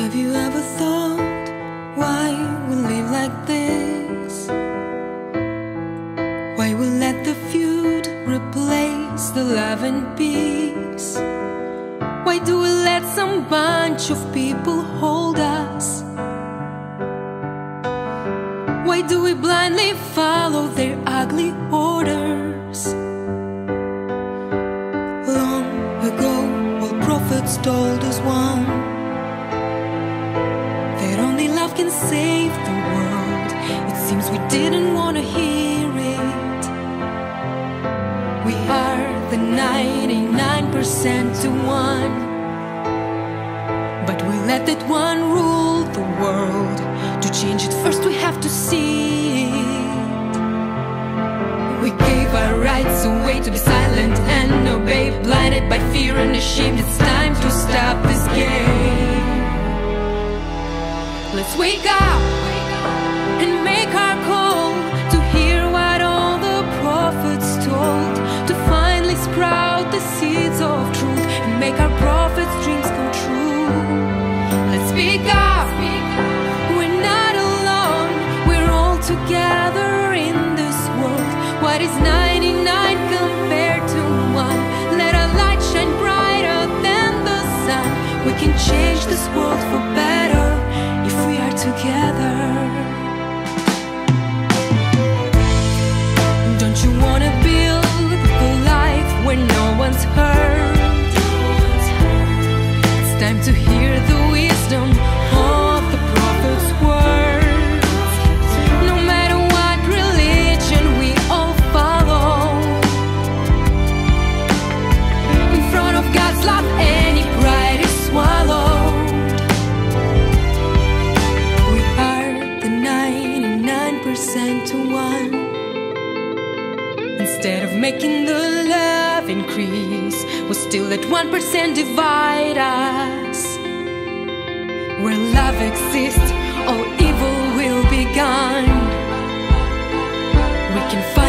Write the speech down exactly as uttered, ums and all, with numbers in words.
Have you ever thought why we live like this? Why we let the feud replace the love and peace? Why do we let some bunch of people hold us? Why do we blindly follow their ugly orders? Long ago, all prophets told us one, that only love can save the world. It seems we didn't want to hear it. We are the ninety-nine percent to one, but we let that one rule the world. To change it first we have to see it. We gave our rights away to be silent and obey, blinded by fear and ashamed. It's time to stop this game. Let's wake up and make our call to hear what all the prophets told, to finally sprout the seeds of truth and make our prophets' dreams come true. Let's speak up, we're not alone, we're all together in this world. What is ninety-nine compared to one? Let our light shine brighter than the sun. We can change this world for better if we are together. Don't you wanna build a life where no one's hurt? It's time to hear the wisdom of the prophet's words. No matter what religion we all follow, in front of God's love any pride is swallowed. We are the ninety-nine percent to one. Instead of making the love increase, we still let one percent divide us. Where love exists, all evil will be gone. We can fight